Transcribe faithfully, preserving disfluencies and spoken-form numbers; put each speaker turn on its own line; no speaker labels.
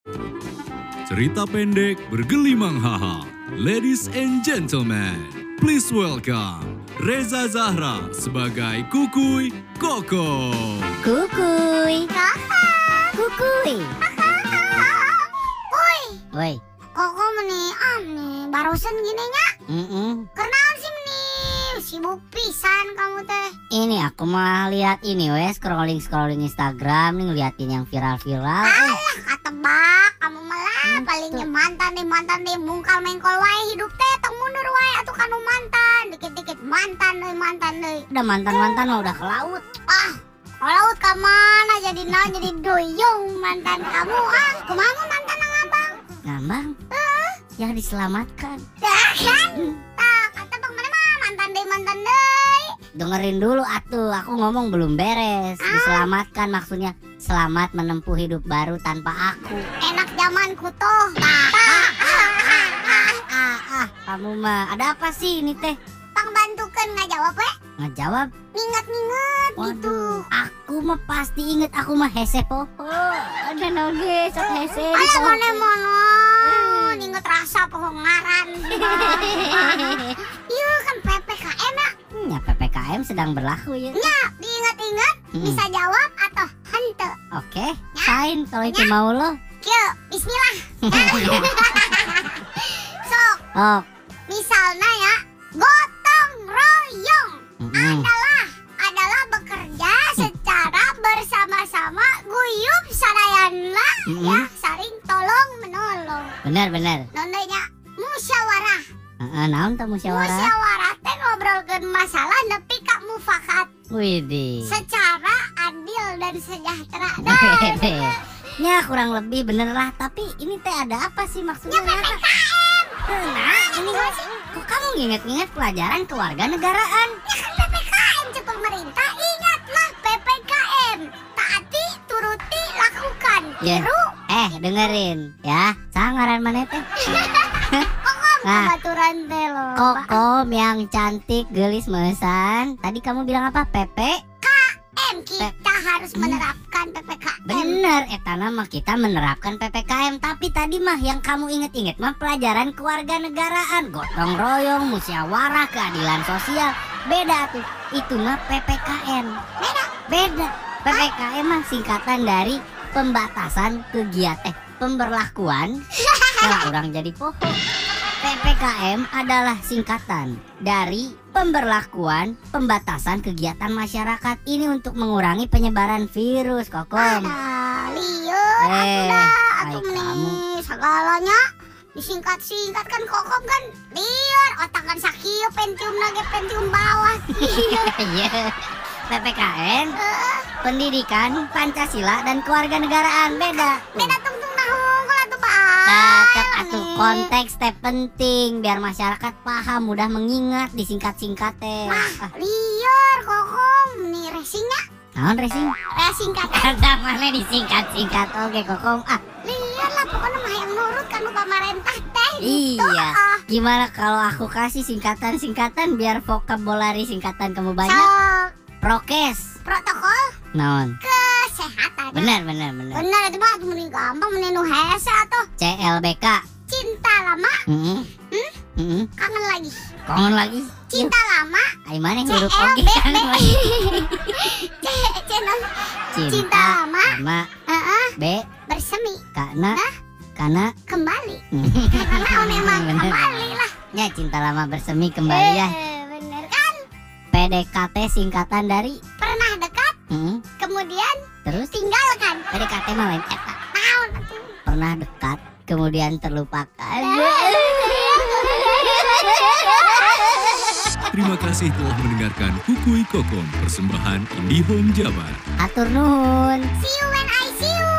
Cerita pendek bergelimang haha. Ladies and gentlemen, please welcome Reza Zahra sebagai Kukuy Koko.
Kukuy.
Kakak.
Kukuy.
Woi,
Woi.
koko meni ane barusan gini nya.
Mm-mm.
Kenal sih meni sibuk pisan kamu teh.
Ini aku mah lihat ini wes scrolling scrolling Instagram nih ngeliatin yang viral-viral. Eh,
Alah katebak kamu malah
Ente.
palingnya mantan deh mantan deh mungkal mengkol wae hidup teh tong mundur wae atuh kanu mantan dikit-dikit mantan deui mantan deui.
udah mantan-mantan mah udah ke laut.
Ah, kalau ka mana jadi na jadi doyong mantan kamu ah. Kumaha mantan nang abang?
Ngambang. Yang diselamatkan.
Dah kan? Tah, katebak mana mah mantan deui mantan deui.
Dengerin dulu atuh, aku ngomong belum beres. Diselamatkan maksudnya selamat menempuh hidup baru tanpa aku.
Enak zamanku tuh. Tah, tah, ah, ah, ah.
Ah, ah, kamu mah ada apa sih ini teh?
Pang bantukeun ngajawab we.
Ngejawab.
Nginget-nginget gitu.
Waduh, aku mah pasti inget aku mah hese poho. Ada noge sok hese di
Alah
poho.
mana mono. Nginget rasa pohon ngaran. Iya kan P P K M ya.
Ya P P K M sedang berlaku ya.
Ya, diinget-inget
Hmm.
bisa jawab atau hente.
Oke, fine kalau itu mau lo.
Kieu, bismillah. Sok,
Oh,
misalnya ya, gotong royong
mm-mm.
adalah adalah bekerja secara bersama-sama, guyup sadayanlah
Mm-mm.
ya, saling tolong menolong.
Benar-benar.
Nondanya musyawarah.
Heeh, naon teh musyawarah?
Musyawarah teh ngobrolkeun masalah nepi ka mufakat
Widih.
secara adil dan sejahtera. Nah,
Wede. Ya kurang lebih bener lah, tapi ini teh ada apa sih maksudnya?
ya P P K M.
Nah, ini kok kamu nginget-nginget pelajaran kewarganegaraan?
Ya kan P P K M cek pemerintah, ingatlah P P K M. Taati, turuti, lakukan.
Ya.
Tiru,
Eh, dengerin ya. Sangaran mana teh? Nah,
baturan teh loh.
Kokom yang cantik gelis mesan. Tadi kamu bilang apa? P P?
M kita harus menerapkan P P K M.
Bener, etana mah kita menerapkan P P K M. Tapi tadi mah yang kamu inget-inget mah pelajaran kewarganegaraan, gotong royong, musyawarah, keadilan sosial. Beda tuh, itu mah P P K M.
Beda.
Beda. P P K M mah singkatan dari pembatasan kegiatan, eh, pemberlakuan. Nah, orang jadi poho. P P K M adalah singkatan dari pemberlakuan pembatasan kegiatan masyarakat. Ini untuk mengurangi penyebaran virus, Kokom.
Ada lieur
Eh,
atuh dah,
hai
atuh
kamu.
meni segalanya disingkat-singkat kan kokom kan lieur otak kan sakieu pentium lagi pentium bawah.
Iya. P P K M, pendidikan, Pancasila, dan kewarganegaraan. Beda.
Beda tungtung nahungkul atuh Pak.
Tetap atuh konteks teh penting biar masyarakat paham, mudah mengingat, disingkat-singkat teh. Ah,
Lieur kokom nih racingnya
naon racing?
racing kata
Kata mana disingkat-singkat. Oke, Kokom. Ah,
lieur lah pokoknya mah yang nurut kan nu pamarentah teh gitu.
iya.
ah.
Gimana kalau aku kasih singkatan-singkatan biar vokabulari singkatan kamu banyak?
Sok
Prokes.
protokol
Naon?
kesehatan.
Benar, benar, benar.
Bener itu mah mending gampang mending nu hese atuh.
C L B K.
Cinta lama
Heeh.
Hmm?
Heeh.
kangen lagi.
Kongon lagi.
Cinta lama
Ai mana
C
huruf
L
oge
B
kan
B.
lagi.
C C non
Cinta,
Cinta lama.
sama
Heeh,
B
bersemi
karena
Hah?
karena
kembali. Karena memang
Bener.
kembali lah.
ya cinta lama bersemi kembali ya.
Eh, bener kan?
P D K T singkatan dari
Pernah dekat
Heeh.
kemudian
Terus
tinggalkan.
P D K T mah lain eta.
Naon atuh?
Pernah dekat kemudian terlupakan.
Terima kasih telah mendengarkan Kukuy Kokom, persembahan IndiHome Jabar.
Atur nuhun.
See you when I see you.